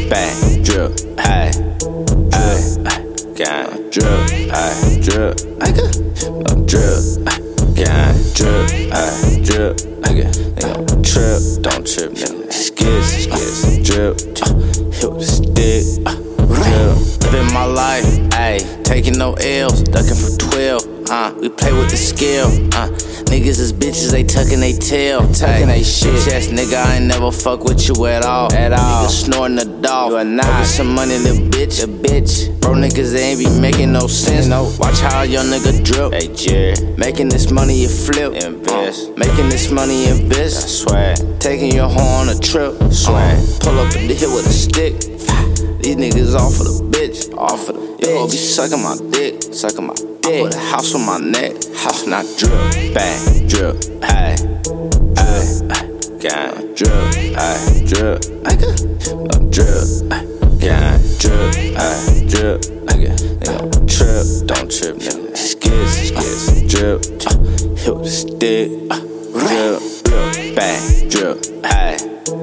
bang, drip, ay, drip, gang, drip, ay, drip, drip, gang, drip, ay, drip, nigga, trip, don't trip, nigga, skits, drip, hit with a stick, drip, living my life, ayy, taking no L's, ducking for 12. We play with the skill. Niggas is bitches, they tucking they tail. Tucking they shit. Yes, nigga, I ain't never fuck with you at all. Nigga snorting the dog. You are not. Get some money, little bitch. A bitch. Bro, niggas, they ain't be making no sense. No. Watch how your nigga drip. Hey, Jerry. Making this money, you flip. Invest. Making this money, invest. I swear. Taking your hoe on a trip. Swear. Pull up in the hill with a stick. These niggas off of the bitch. Off of the bitch. You gon' be sucking my dick. Sucking my dick. I put a house on my neck. House not drip. Bang. Drip. Ay. Drip. Gang. Drip. Ay. Drip. Drip. Gang. Drip. Ay. Drip. Nigga, trip. Don't trip, nigga. Skits. Drip. Hit with a stick. Drip. Bang. Drip. Ay.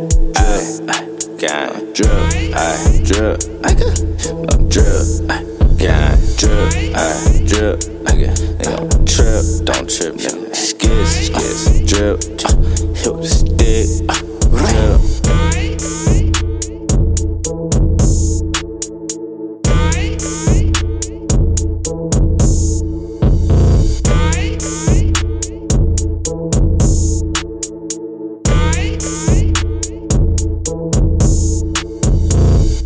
Gang. Drip. Ay. Drip. Drip. Gang. Drip. Ay. Drip. Nigga, trip. Don't trip, nigga. Skits. Drip. Hit with a stick. Drip.